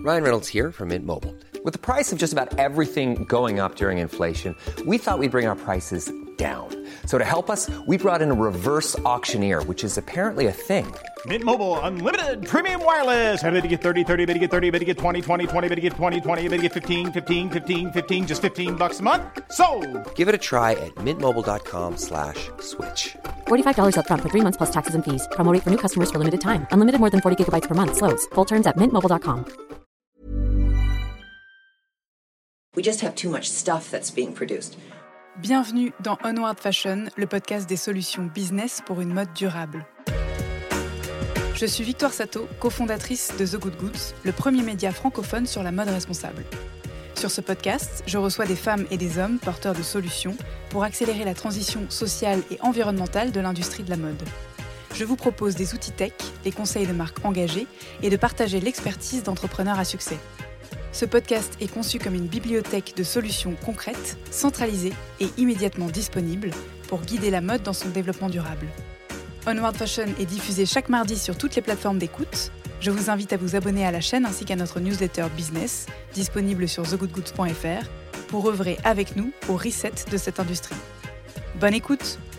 Ryan Reynolds here from Mint Mobile. With the price of just about everything going up during inflation, we thought we'd bring our prices down. So to help us, we brought in a reverse auctioneer, which is apparently a thing. Mint Mobile Unlimited Premium Wireless. How to get 30, 30, bit to get 30, bit to get 20, 20, 20, bit to get 20, 20, bit to get 15, 15, 15, 15, just $15 a month? Sold! Give it a try at mintmobile.com/switch. $45 up front for 3 months plus taxes and fees. Promo rate for new customers for limited time. Unlimited more than 40 gigabytes per month. Slows full terms at mintmobile.com. We just have too much stuff that's being produced. Bienvenue dans Onward Fashion, le podcast des solutions business pour une mode durable. Je suis Victoire Sato, cofondatrice de The Good Goods, le premier média francophone sur la mode responsable. Sur ce podcast, je reçois des femmes et des hommes porteurs de solutions pour accélérer la transition sociale et environnementale de l'industrie de la mode. Je vous propose des outils tech, des conseils de marques engagées et de partager l'expertise d'entrepreneurs à succès. Ce podcast est conçu comme une bibliothèque de solutions concrètes, centralisées et immédiatement disponibles pour guider la mode dans son développement durable. Onward Fashion est diffusé chaque mardi sur toutes les plateformes d'écoute. Je vous invite à vous abonner à la chaîne ainsi qu'à notre newsletter business, disponible sur thegoodgoods.fr, pour œuvrer avec nous au reset de cette industrie. Bonne écoute!